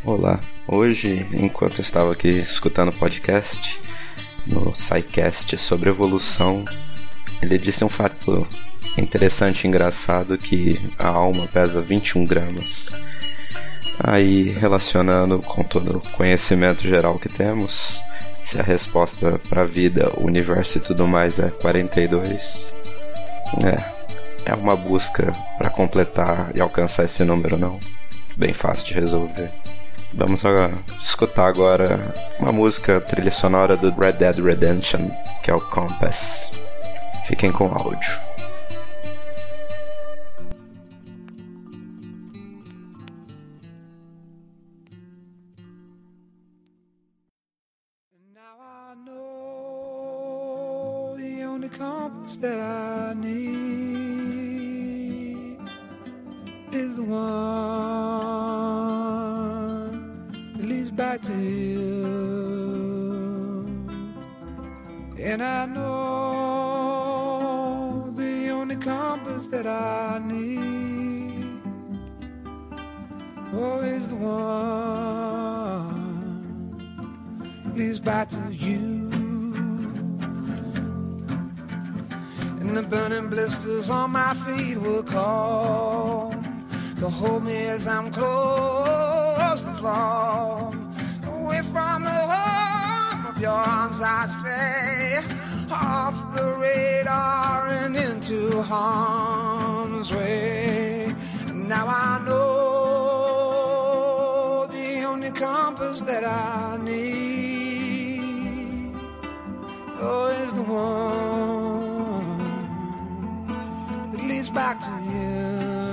Olá, hoje, enquanto eu estava aqui escutando o podcast, no SciCast sobre evolução, ele disse um fato interessante e engraçado que a alma pesa 21 gramas. Aí, relacionando com todo o conhecimento geral que temos, se a resposta para a vida, o universo e tudo mais é 42, é uma busca para completar e alcançar esse número, não? Bem fácil de resolver. Vamos escutar agora uma música trilha sonora do Red Dead Redemption, que é o Compass. Fiquem com o áudio. Now I know the only compass that I need is the one that leads back to you. And I know the only compass that I need is the one that leads back to you. And the burning blisters on my feet will call to hold me as I'm close to fall. Away from the home of your arms I stray, off the radar and into harm's way. Now I know the only compass that I need is the one that leads back to you.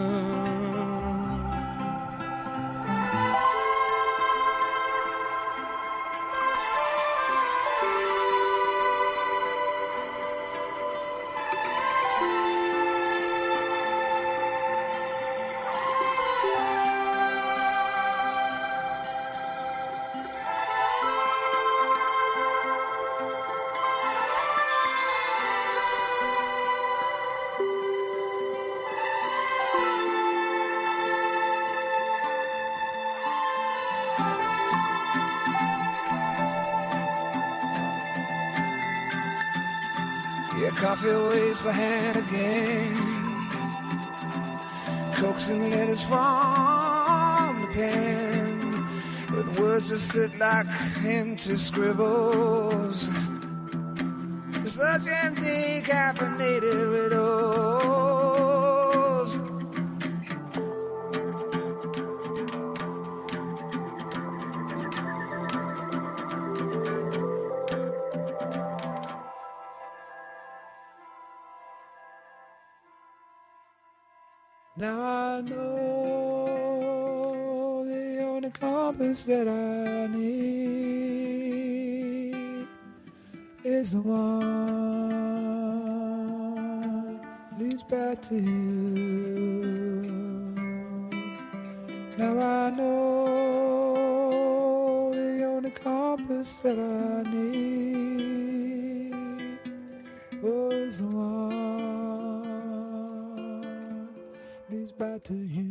Yeah, coffee waves the hand again, coaxing letters from the pen, but words just sit like empty scribbles, such empty caffeinated riddles. Now I know the only compass that I need is the one that leads back to you. Now I know the only compass that I need is the one leads back to you.